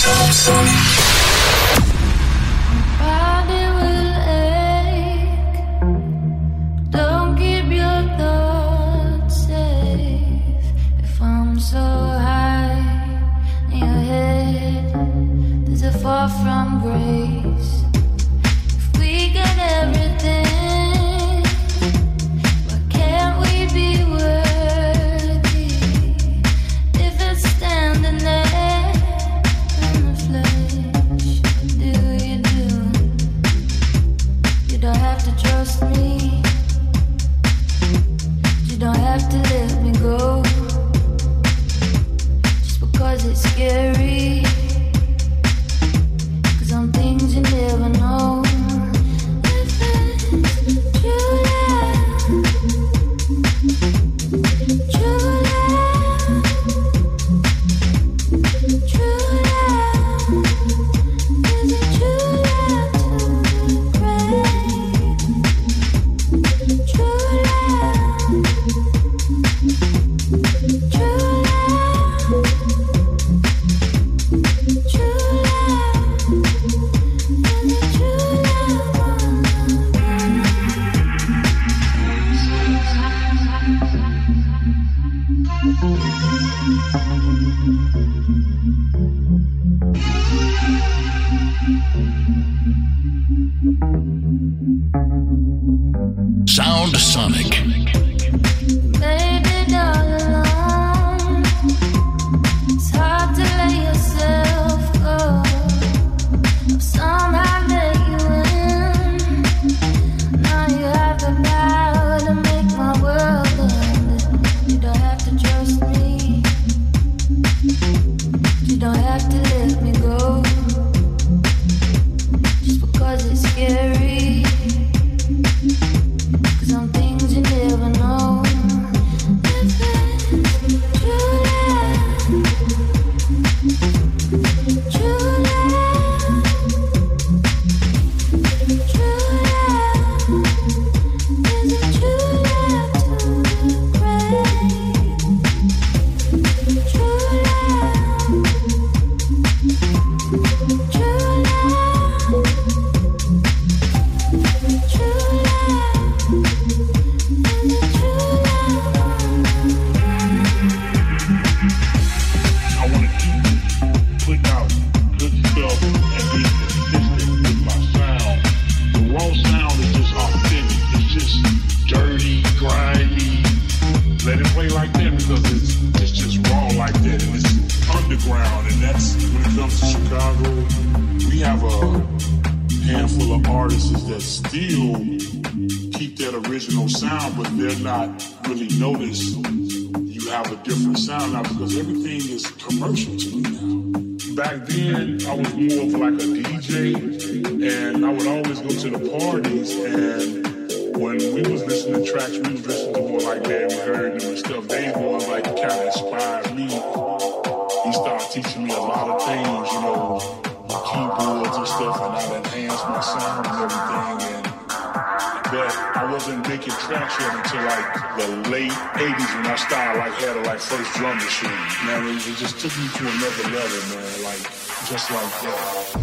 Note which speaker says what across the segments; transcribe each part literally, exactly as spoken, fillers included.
Speaker 1: Sound Sonic.
Speaker 2: It just took me to another level, man, like, just like that.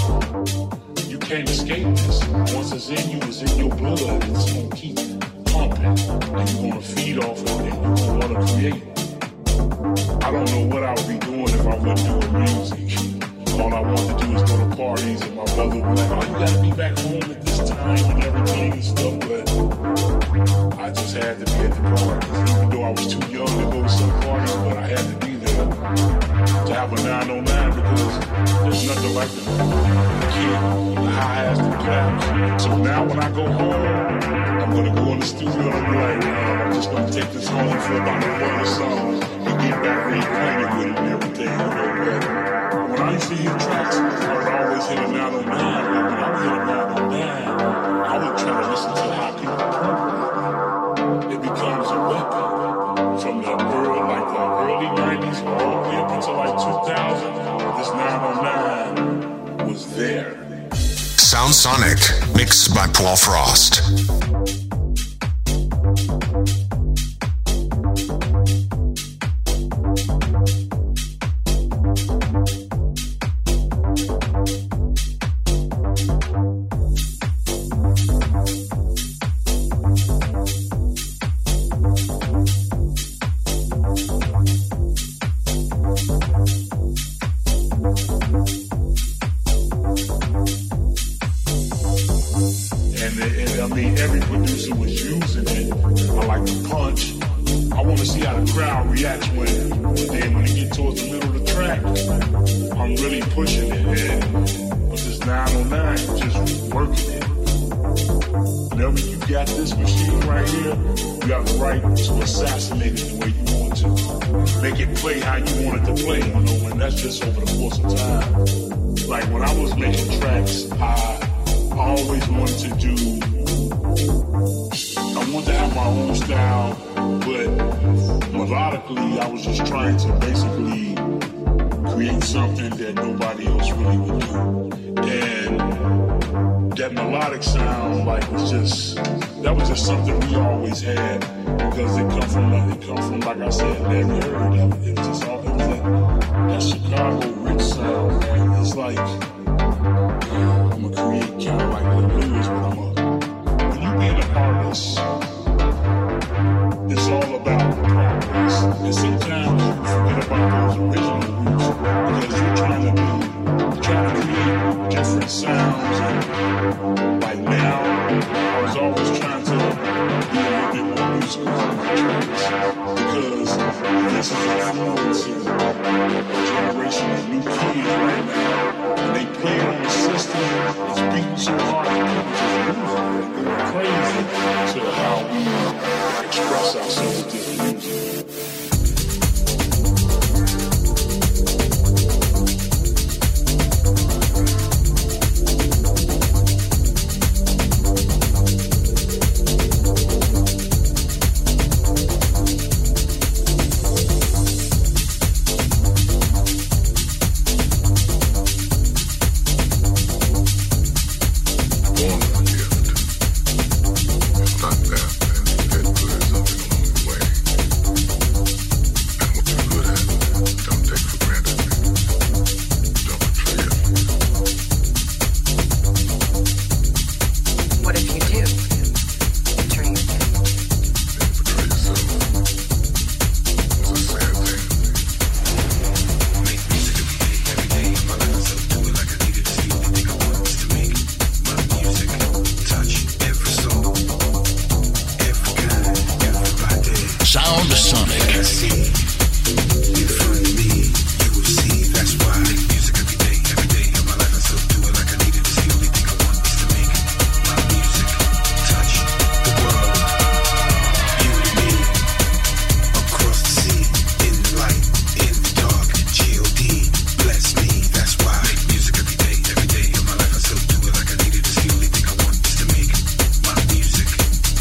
Speaker 3: Once it's in you, it's in your blood. It's gonna keep pumping.
Speaker 2: and you're gonna feed off of it, and you're gonna create. I don't know what I would be doing if I wasn't doing music. All I wanted to do is go to parties, and my brother would be like, oh, you gotta be back home at this time and everything and stuff, but I just had to be at the parties, even though I was too young to go to some parties, but I had to be there to have a nine oh nine because there's nothing like the kid, the highs, the claps. So now when I go home, I'm gonna go in the studio and I'm like, man, I'm just gonna take this home for about a month or so and get back reacquainted with it and everything, you know. But when I used to hear tracks, I would always hit a nine oh nine. But when I would hit a nine oh nine, I would try to listen to how people program. It becomes a weapon from the early, like the early nineties all the way up until like two thousand. This nine oh nine was there.
Speaker 1: Sound Sonic, mixed by Paul Frost.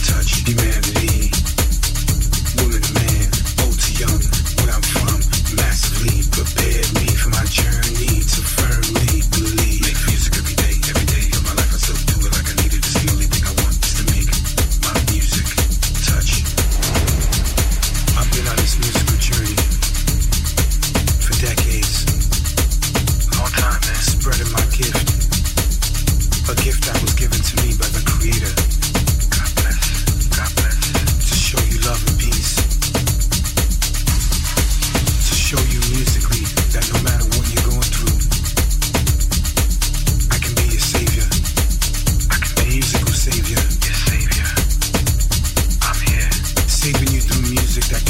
Speaker 3: Humanity, woman to man, old to young, where I'm from,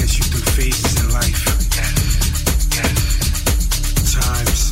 Speaker 3: witness you through phases in life. Times,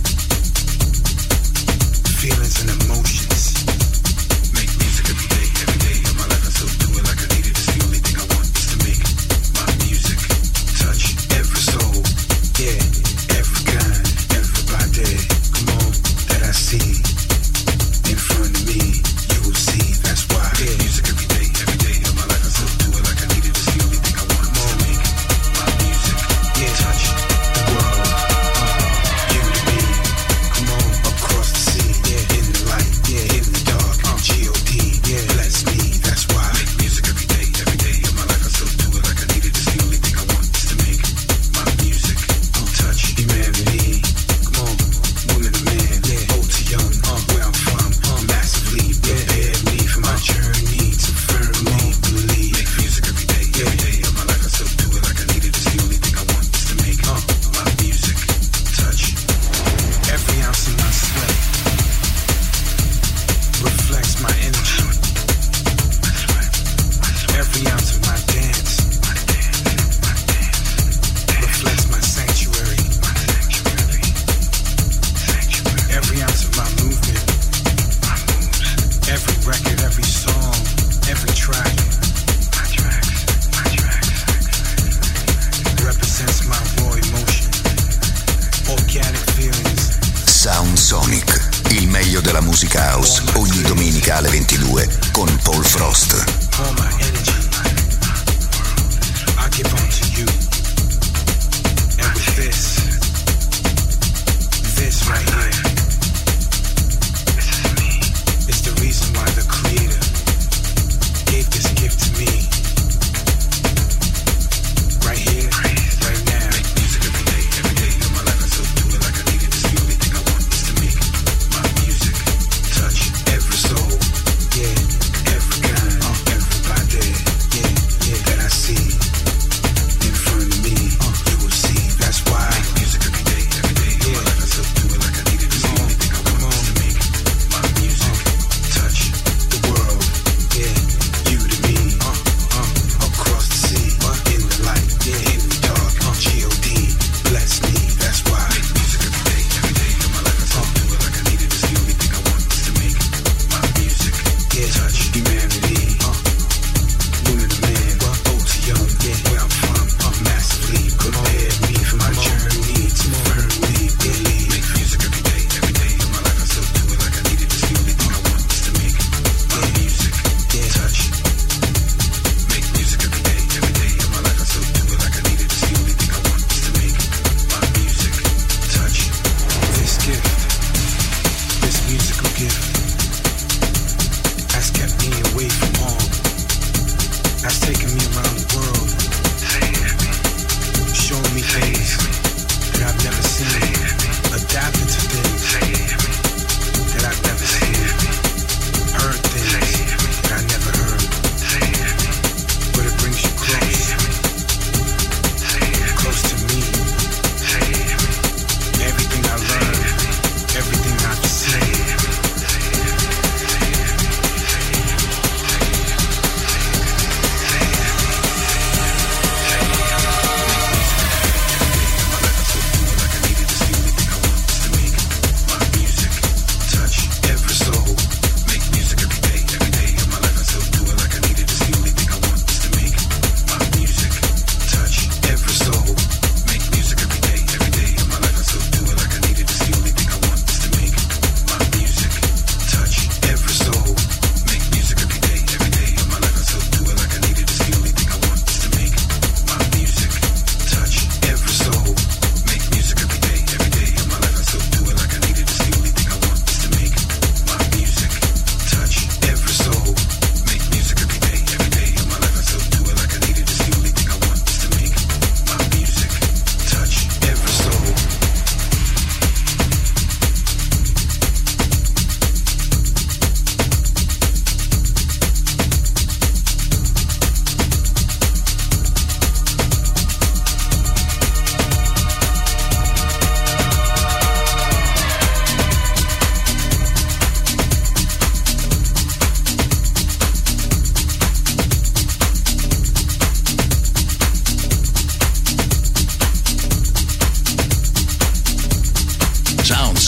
Speaker 3: feelings and emotions. Make music every day, every day of my life. I still do it like I need it. It's the only thing I want is to make my music touch every soul. Yeah, every kind, everybody. Come on, that I see in front of me. You will see, that's why. Yeah, music every day, every day of my life. I still do it like I need it. It's the only thing I want is to make my music yeah, touch the world. You to me, come on, across the sea, yeah, in the light, yeah, in the dark, uh, G O D, yeah, bless me, that's why. Make music every day, every day of my life. I still do it like I need it. It's the only thing I want is to make my music touch humanity. Come on, woman to man, yeah, old to young, uh, where I'm from, uh, massively prepare me for my journey to firmly believe. Make music every day, every day of my life. I still do it like I need it. It's the only thing I want is to make uh, my music touch every ounce of my sweat. Reflects my energy. Every ounce of my dance reflects my sanctuary. Every ounce of my movement, every record, every song, every track represents my raw emotion, organic feelings.
Speaker 1: Sound Sonic, il meglio della musica house, ogni domenica alle ventidue con Paul Frost.
Speaker 3: All my energy, I give unto you. And with this, this right here, is the reason why the Creator gave this gift to me. Right here, right now. Make music every day, every day of my life. I still do it like I need it. It's the only thing I want is to make my music touch every soul. Yeah, every kind, uh, everybody. Yeah, yeah, that I see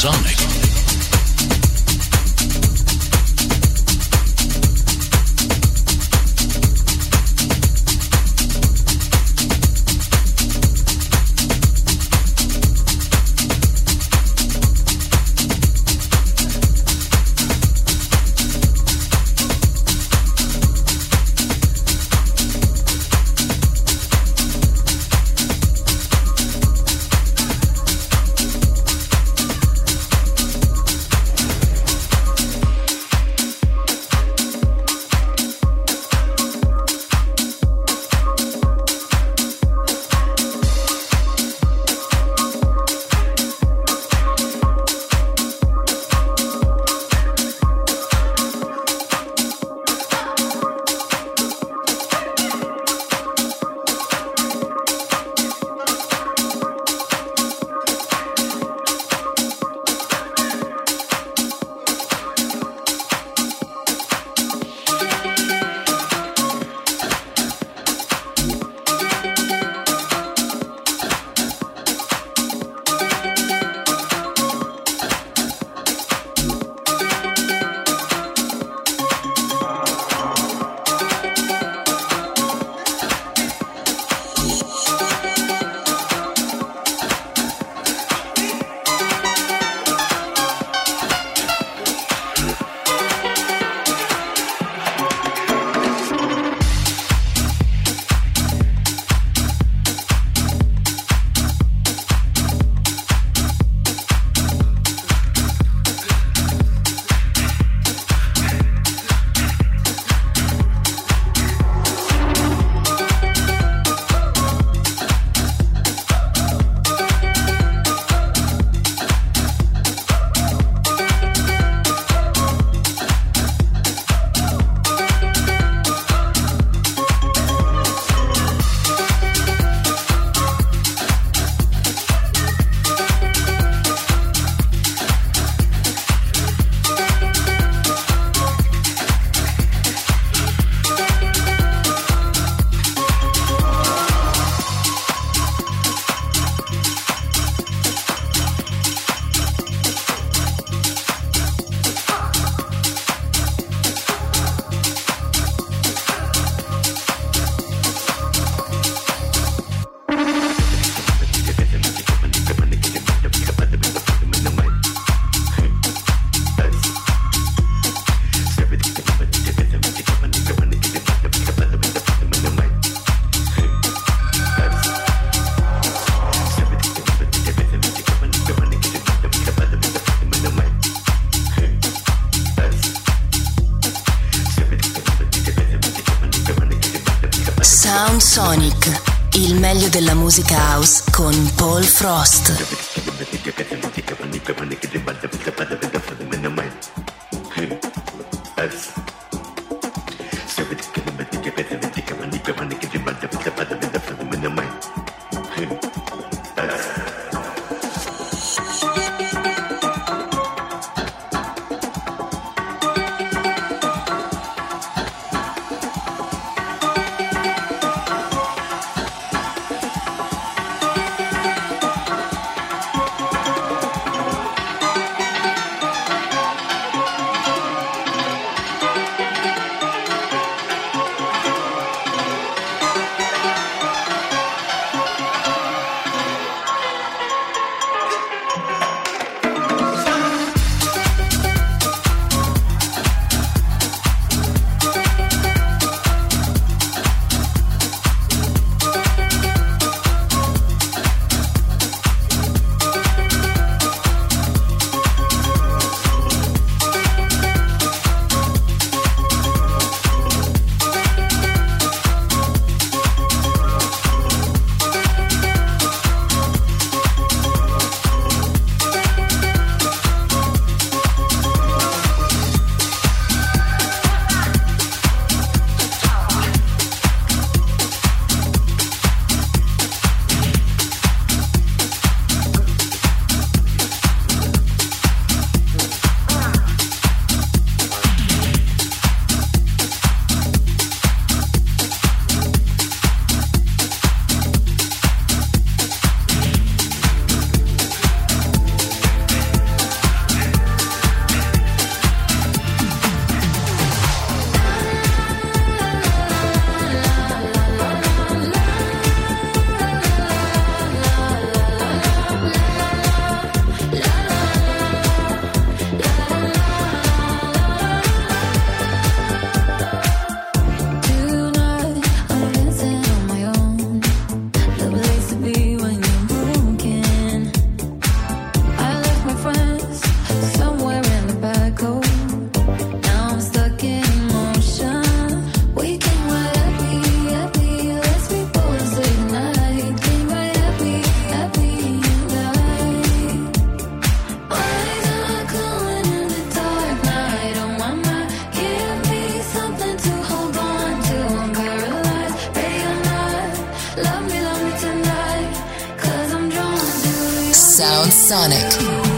Speaker 4: Sonic.
Speaker 5: Sound Sonic, il meglio della musica house con Paul Frost. Sound Sonic.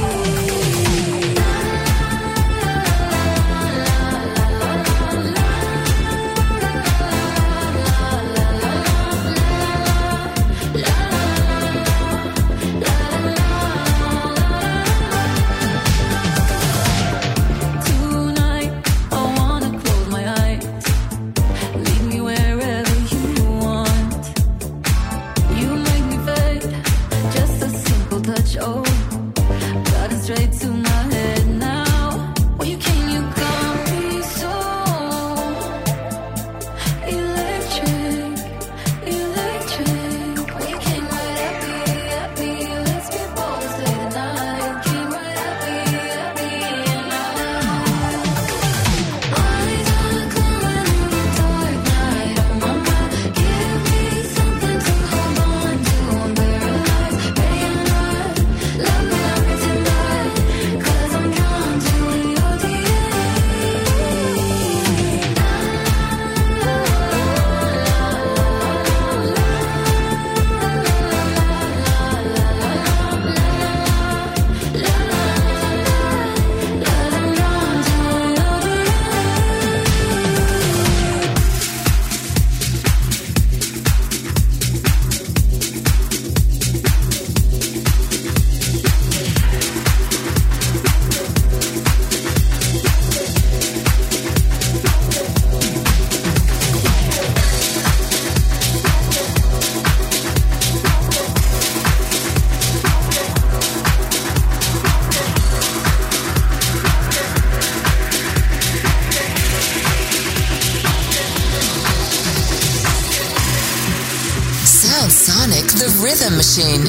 Speaker 5: Sonic, the Rhythm Machine.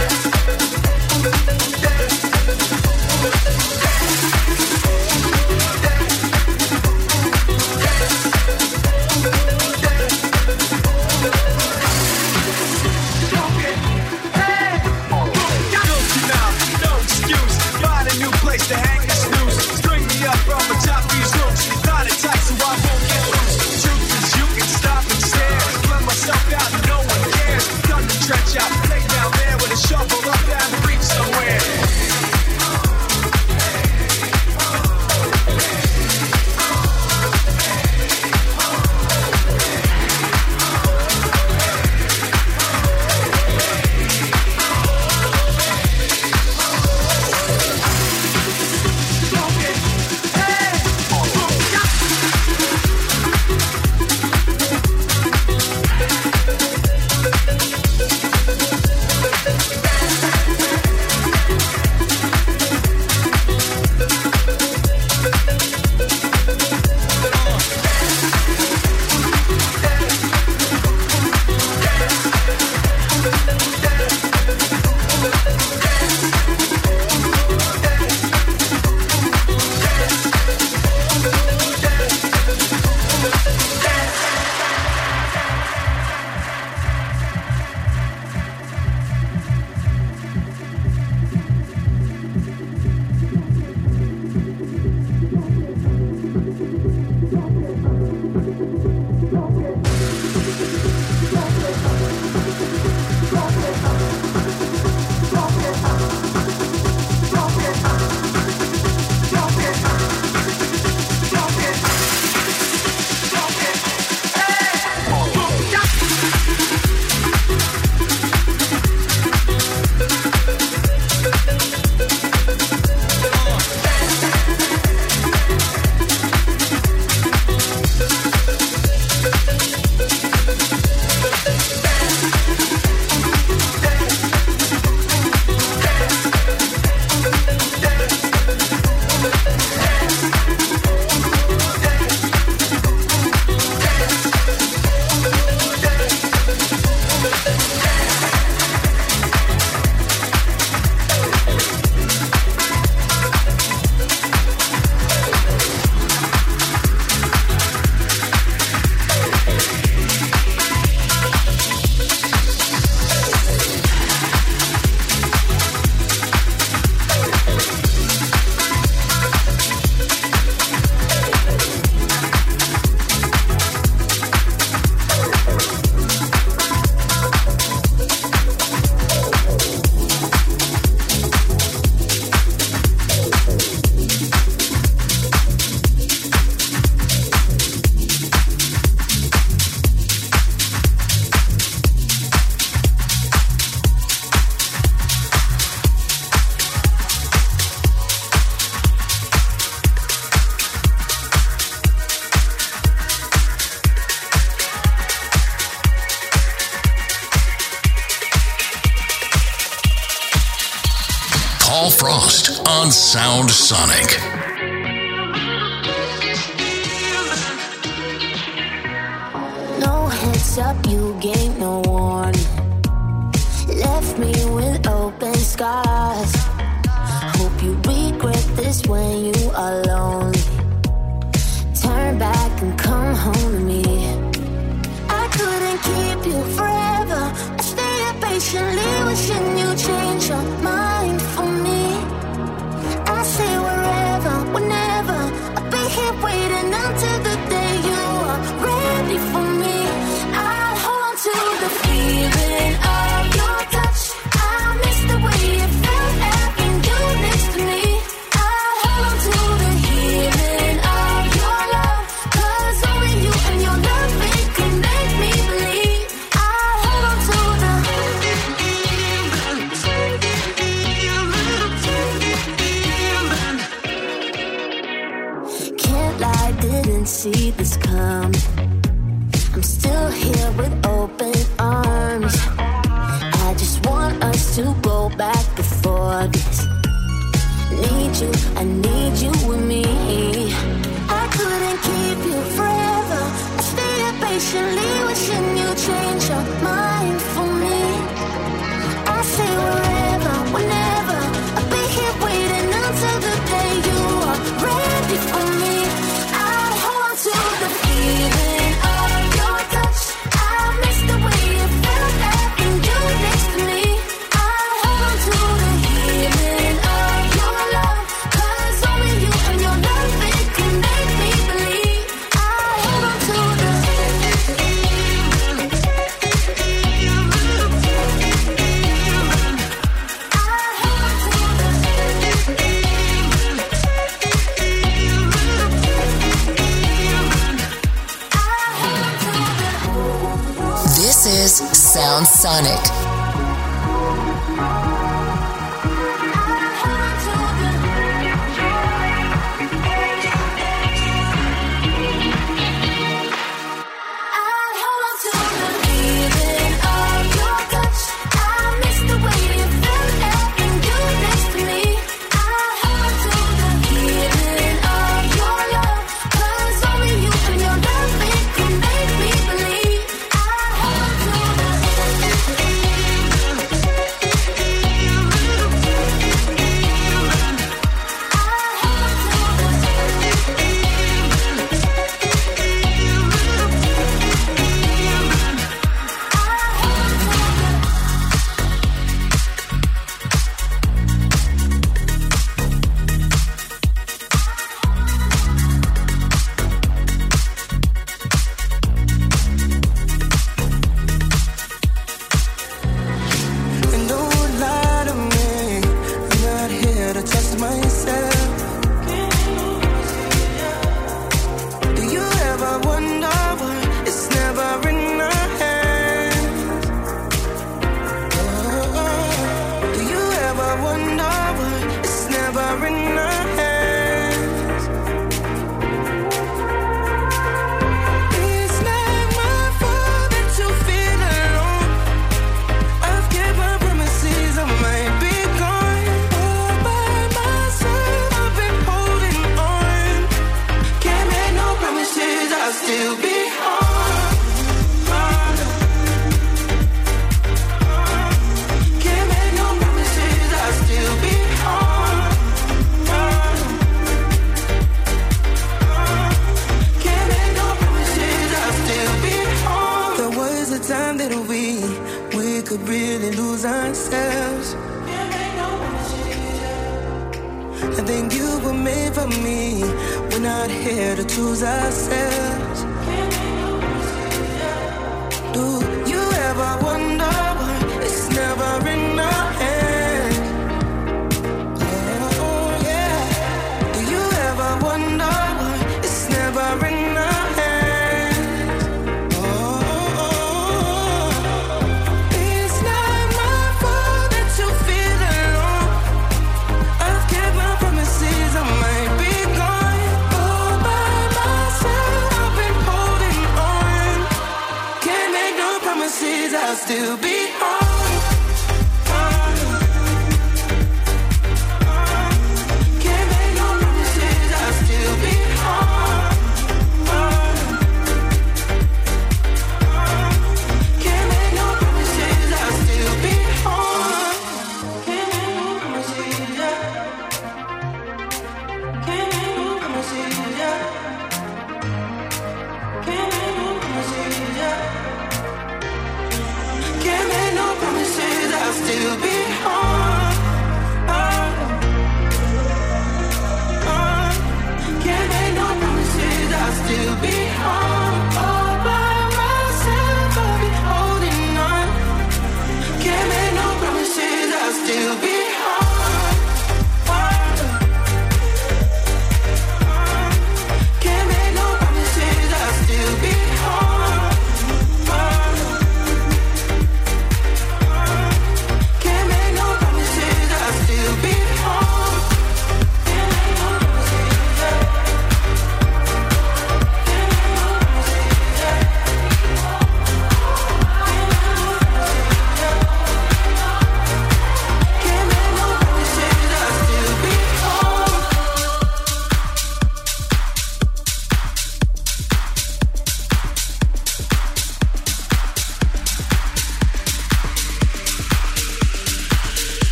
Speaker 4: Yeah.
Speaker 1: Paul Frost on Sound Sonic.
Speaker 4: No heads up, you gave no warning. Left me with open scars. Hope you regret this when you are lonely. Turn back and come home to me. I couldn't keep you forever. I stayed patiently wishing you change your mind for me. I say wherever, whenever, I'll be here waiting until the day you are ready for me. I'll hold on to the feeling of your touch. I miss the way it felt having you next to me. I'll hold on to the healing of your love, 'cause only you and your love, it can make me believe. I'll hold on to the can't lie, didn't see this coming. I'm still here with open arms. I just want us to go back before this. Need you, I need you with me. I couldn't keep you forever. I stayed patiently wishing you change your mind for me. I say wherever, whenever, I'll be here waiting until the day you are ready for me. I'll hold on to the feeling of your touch. I miss the way it felt having you next to me. I'll hold on to the healing of your love, 'cause only you and your love, it can make me believe. I'll hold on to the
Speaker 5: This is Sound Sonic.
Speaker 6: Promises I might be gone all by myself.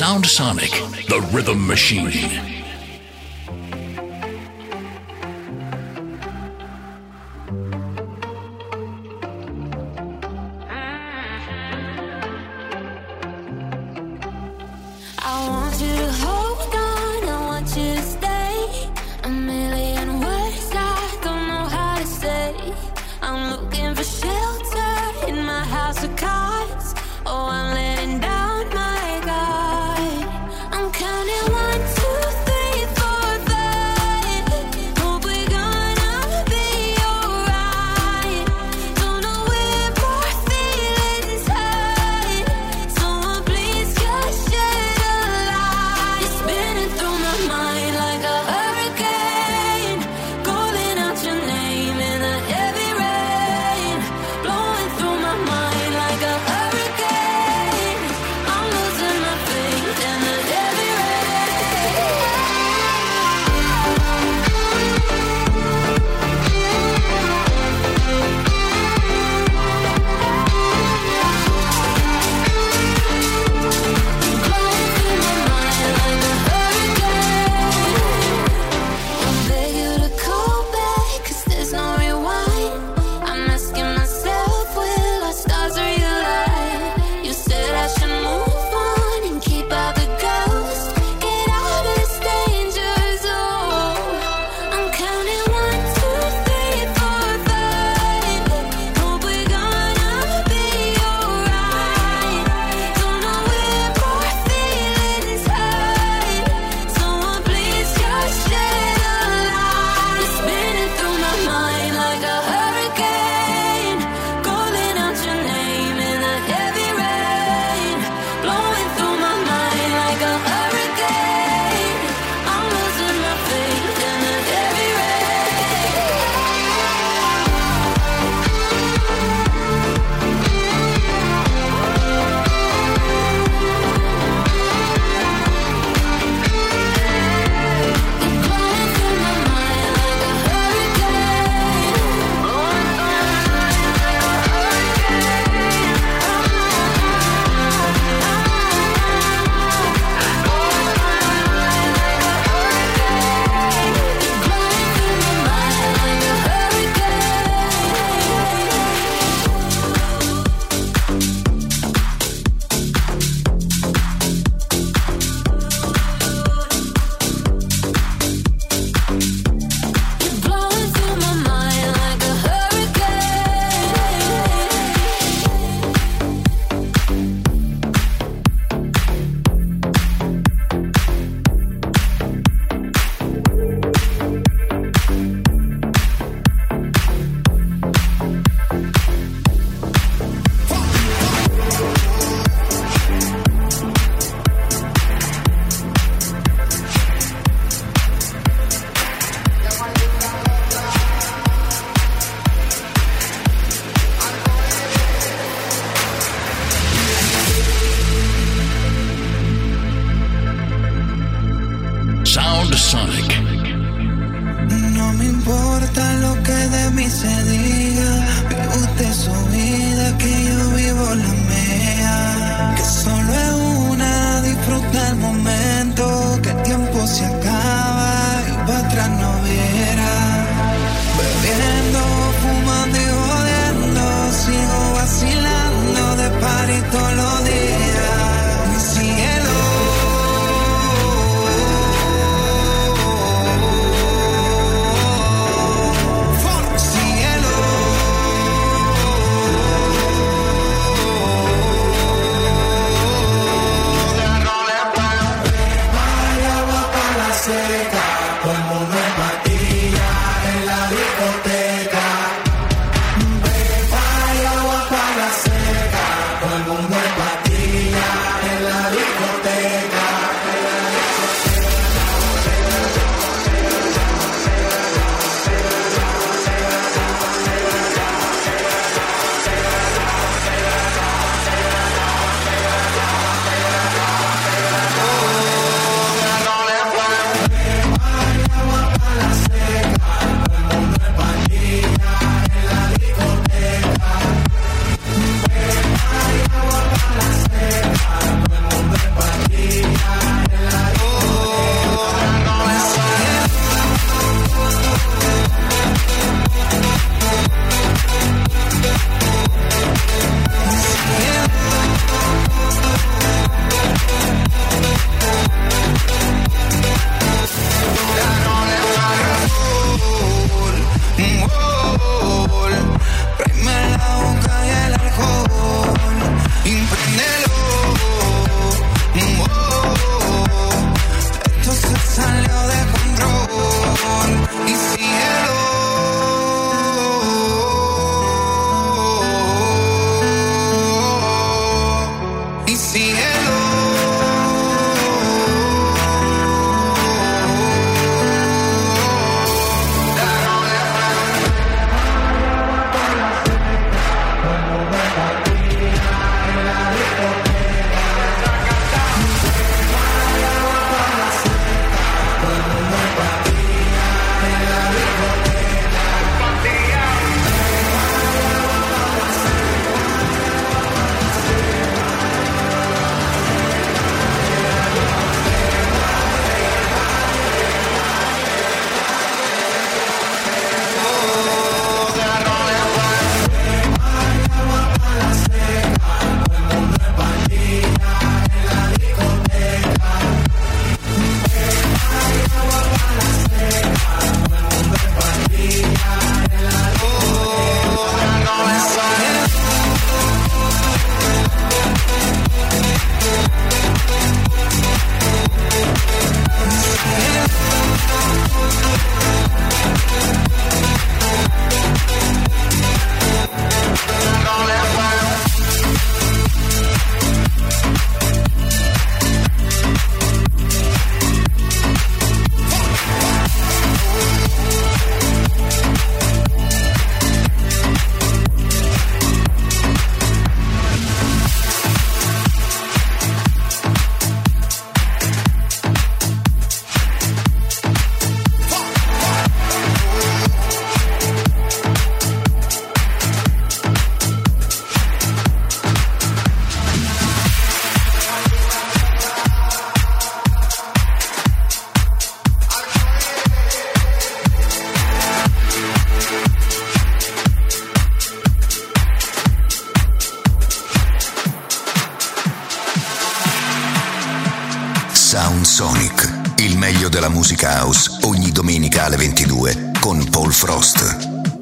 Speaker 6: Sound Sonic, the rhythm machine.
Speaker 7: Let
Speaker 1: Sound Sonic, il meglio della musica house, ogni domenica alle ventidue con Paul Frost.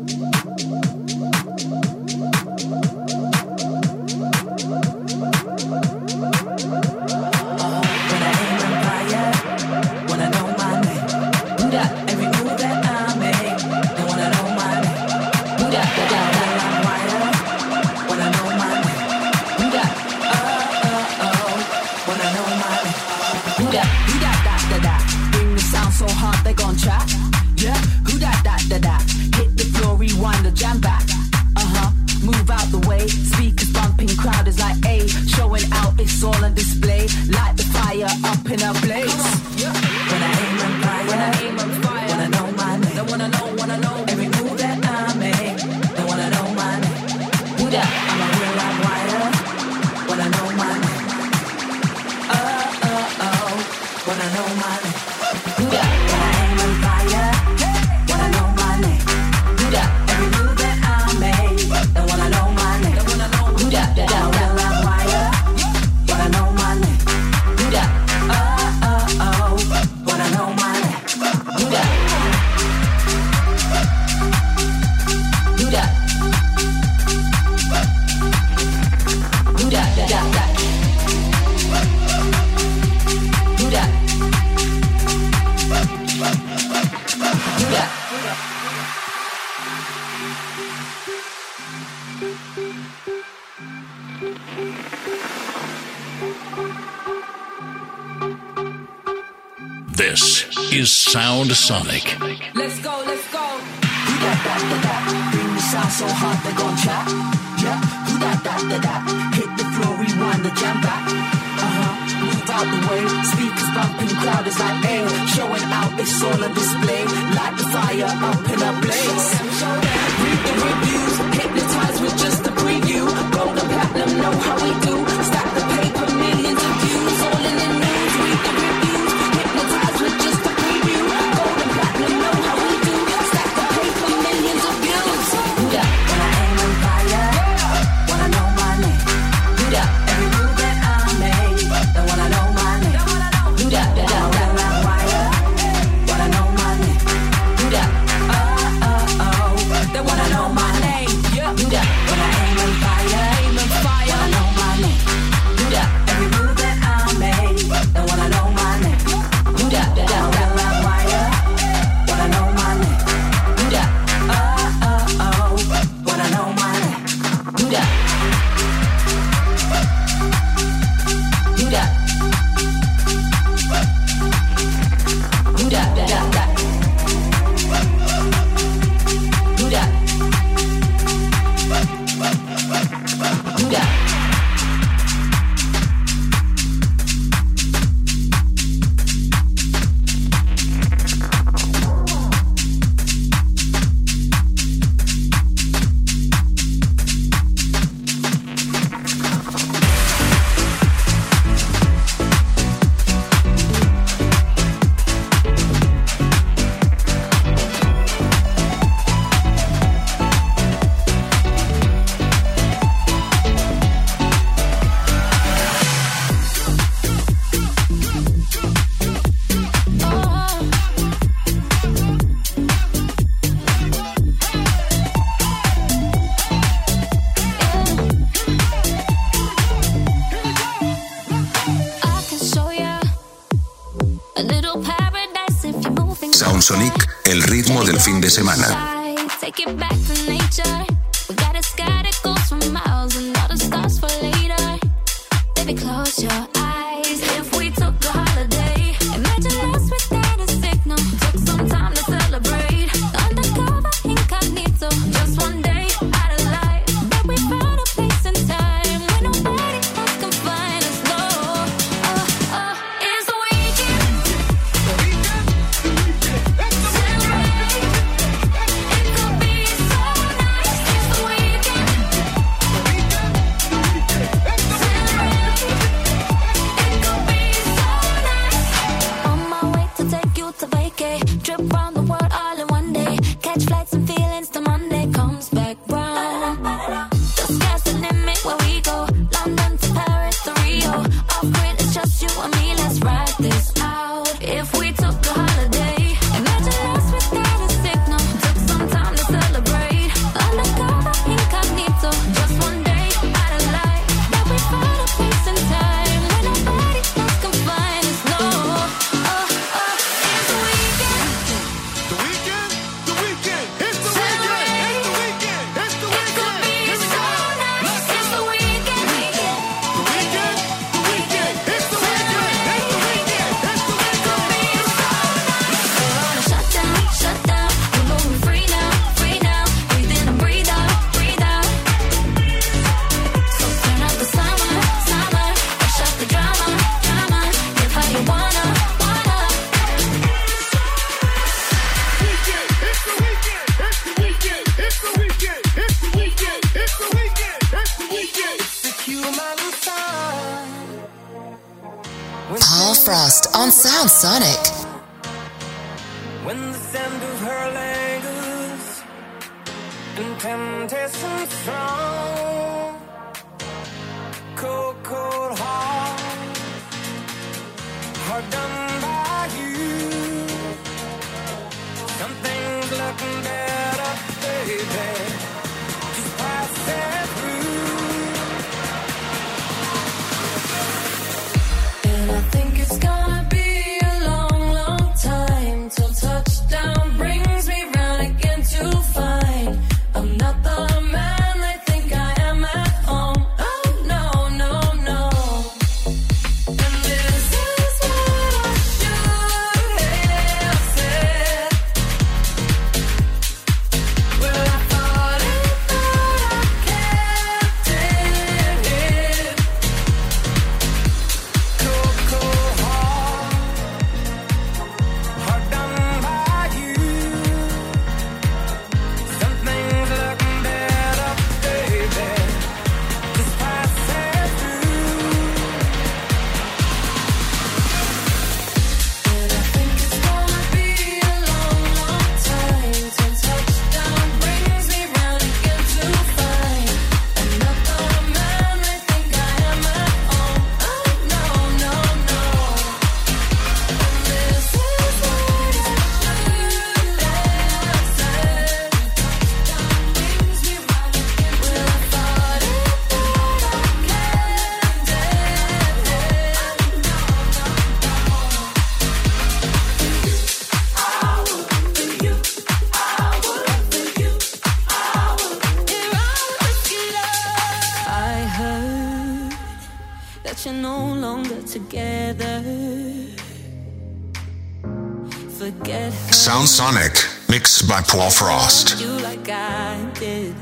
Speaker 6: This is Sound Sonic.
Speaker 7: Let's go, let's go. Who that, that, that, that? Bring the sound so hard they gon' trap. Yeah, who that, that, that, that? Hit the floor, rewind the jam back. Uh-huh, move out the way. Speakers bumping, crowd is like, hey. Showing out, it's all a display. Light the fire up in a blaze. Read the reviews, hypnotized with just a preview. Gold and platinum, know how we do. Stack the paper, millions of views. All in the news, read the reviews. Hypnotized with just a preview. Gold and platinum, know how we do. Stack the paper, millions of views. Do that when I aim on fire. Wanna know my name. Do that every move that I make. They wanna know my name. Do that, that, that, that, that wire. Wanna know my name. Do that. Oh, oh, oh. They wanna know my name. Yeah. Do that when I aim on fire. Aim on fire. Wanna know my name. Do that every move that I make. They wanna know my name. Do that, that, that, that wire. Wanna know my name. Do that. Oh, oh, oh. Wanna know my name. Do that. Do that. Do that, that, that, that. Do that. Do that.
Speaker 1: Sound Sonic è il ritmo del fin de semana.
Speaker 8: Take it back to nature. We got a sky that goes for miles and all the stars for later. Baby, close your eyes. If we took a holiday, imagine us without a signal. Took some time to celebrate. Undercover, incognito. Just one day out of life. But we found a place and time where nobody else can find us. No, oh, oh, it's the weekend. Celebrate. It could be so nice.
Speaker 5: Frost on Sound Sonic.
Speaker 9: When the sound of her lingers and temptation strong, cold, cold heart, hard done by you. Something's looking better, baby. Just pass it through. And I think it's gonna be a long, long time till touchdown brings me round again to find I'm not the man they think I am at home. Oh no, no, no. And this is what I should have said. Well, I thought it, thought I kept it hid. Cold, cold heart, hard done by you. Something's looking better, baby. Just pass it through. And I think it's gonna be a long, long time till touchdown brings me round again to find I'm not the man they think I am at home. Oh no, no, no. And this is what I should have said. Touchdown brings me round again. Well, I thought it, thought I kept it I heard that you're no longer together. Forget her.
Speaker 1: Sound Sonic, mixed by Paul Frost.
Speaker 9: You like I did.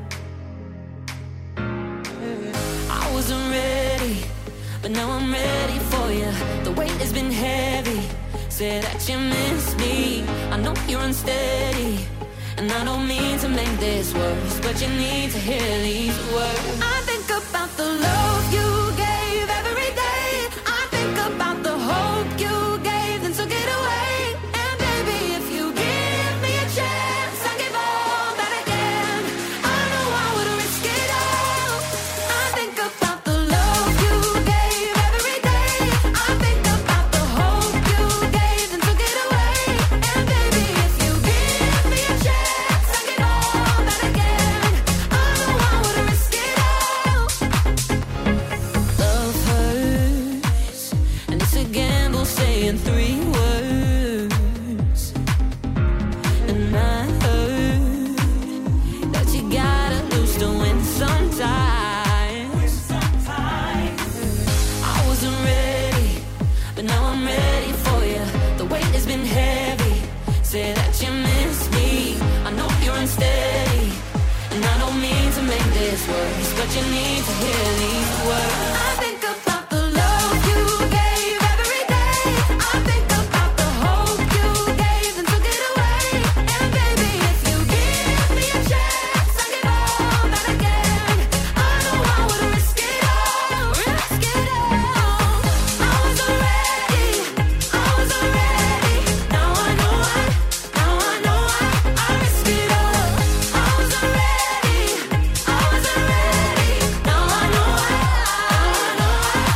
Speaker 9: I wasn't ready, but now I'm ready for you. The weight has been heavy. Say that you miss me. I know you're unsteady, and I don't mean to make this worse, but you need to hear these words. I think about the love you gave every day. I think about the hope you gave, then took it away. And baby, if you give me a chance, I'll give all that I can. I know I would risk it all. I think about the love you gave every day. I think about the hope you gave, then took it away. And baby, if you give me a chance, I'll give all that I can. I know I would risk it all. Love hurts, and it's a gamble saying three words. And I heard that you gotta lose to win sometimes. I wasn't ready, but now I'm ready for you. The weight has been heavy. Say that you miss me. I know you're unsteady, and I don't mean to make this worse, but you need to hear these words. I think about the love you gave every day. I think about the hope you gave, then took it away. And baby, if you give me a chance, I'll give all that I can. I know I would risk it all, risk it all. I wasn't ready, I wasn't ready. Now I know I, now I know I, I risk it all. I wasn't ready, I wasn't ready. Now I know I, now I know I.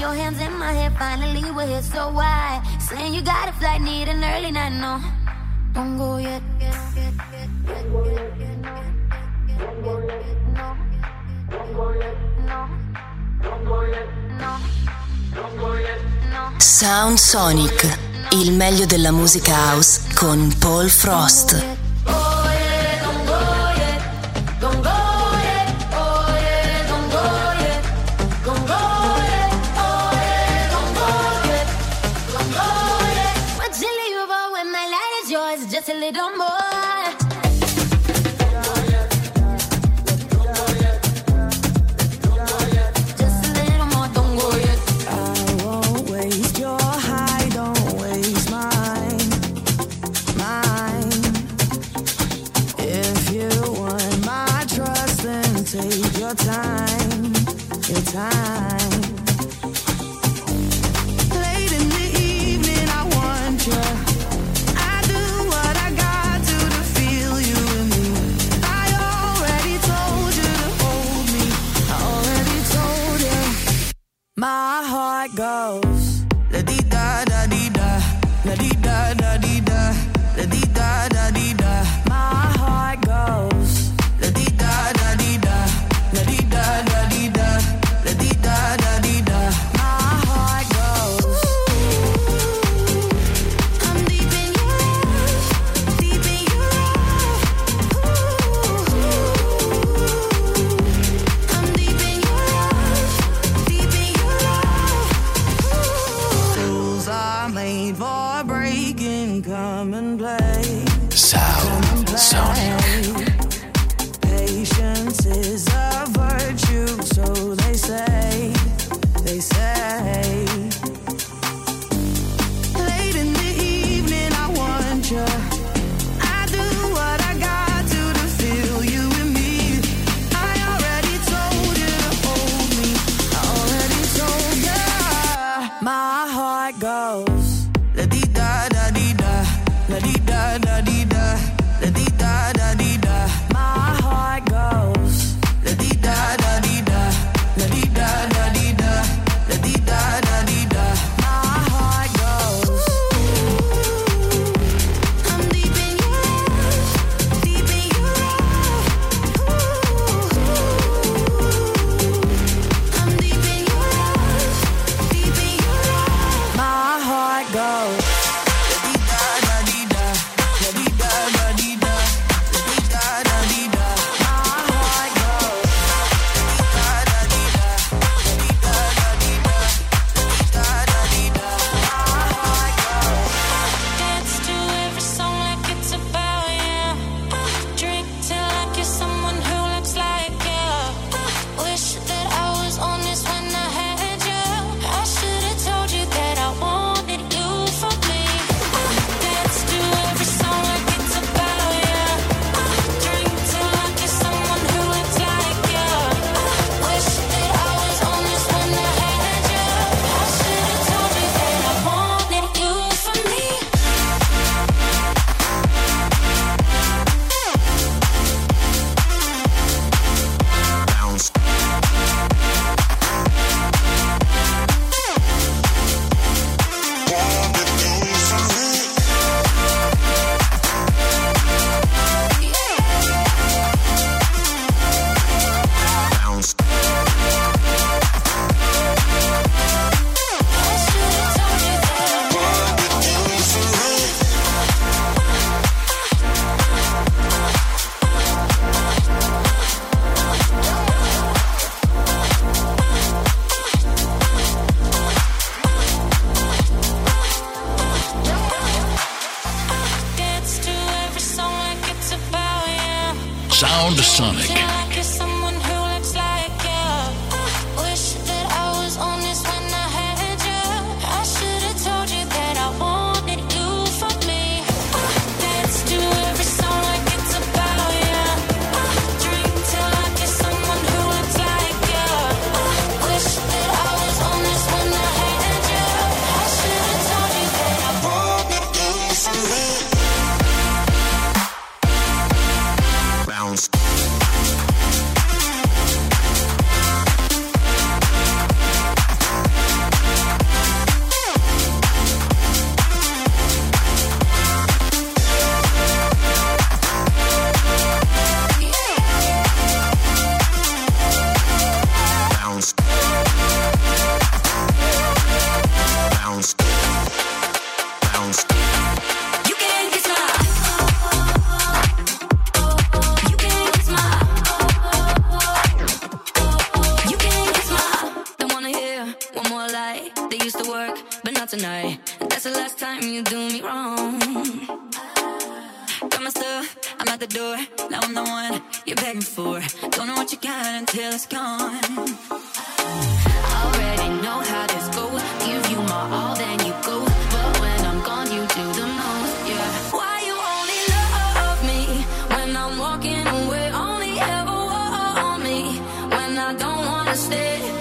Speaker 8: your hands in my hair, finally we're here, so why? Saying you got a flight, need an early night, no. Don't go yet.
Speaker 5: Sound Sonic, il meglio della musica house con Paul Frost.
Speaker 8: Just a little more. Just a little more, don't go yet.
Speaker 7: I won't waste your high, don't waste mine, mine. If you want my trust, then take your time, your time. Late in the evening, I want you. My heart goes la di da da di da, la di da da di da, la di da da di da. My heart goes la di da da di da, la di da da di da, la di da da di da. My heart goes. I'm deep in your love, deep in your love. I'm deep in your love, deep in your rules are made for breaking, come and play.
Speaker 6: Sound Sonic.
Speaker 7: Patience is a virtue, so they say, they say. Late in the evening, I want you. I do what I got to to feel you in me. I already told you to hold me. I already told you. My heart goes la di da da di da, la di da da di da, la di da da di da. My heart goes la di da da di da, la di da da di da, la di da da di da. My heart goes. I'm deep in your love, deep in your love. I'm deep in your love, deep in your love. My heart goes.
Speaker 9: Dance to every song like it's about you. Drink till I kiss someone who looks like you. Wish that I was honest when I had you. I should have told you that I wanted you for me. Dance to every song like it's about you. Drink till I kiss someone who looks like you. Wish that I was honest when I had you. I should have told you that I wanted you for me.
Speaker 1: Bounce. Bounce.
Speaker 9: I should have told you that I dance to every song like it's about you.
Speaker 6: Sound Sonic.
Speaker 9: Till I kiss someone who looks like you. Wish that I was honest when I had you. I should have told you that I wanted you for me. Dance to every song like it's about you. Drink till I kiss someone who looks like you. Wish that I was honest when I had you. I should have told you that I wanted you for me.
Speaker 1: Bounce.
Speaker 8: out tonight. That's the last time you do me wrong. Got my stuff, I'm at the door. Now I'm the one you're begging for. Don't know what you got until it's gone. Already know how this goes. Give you my all, then you go. But when I'm gone, you do the most, yeah. Why you only love me when I'm walking away? Only ever want me when I don't wanna stay.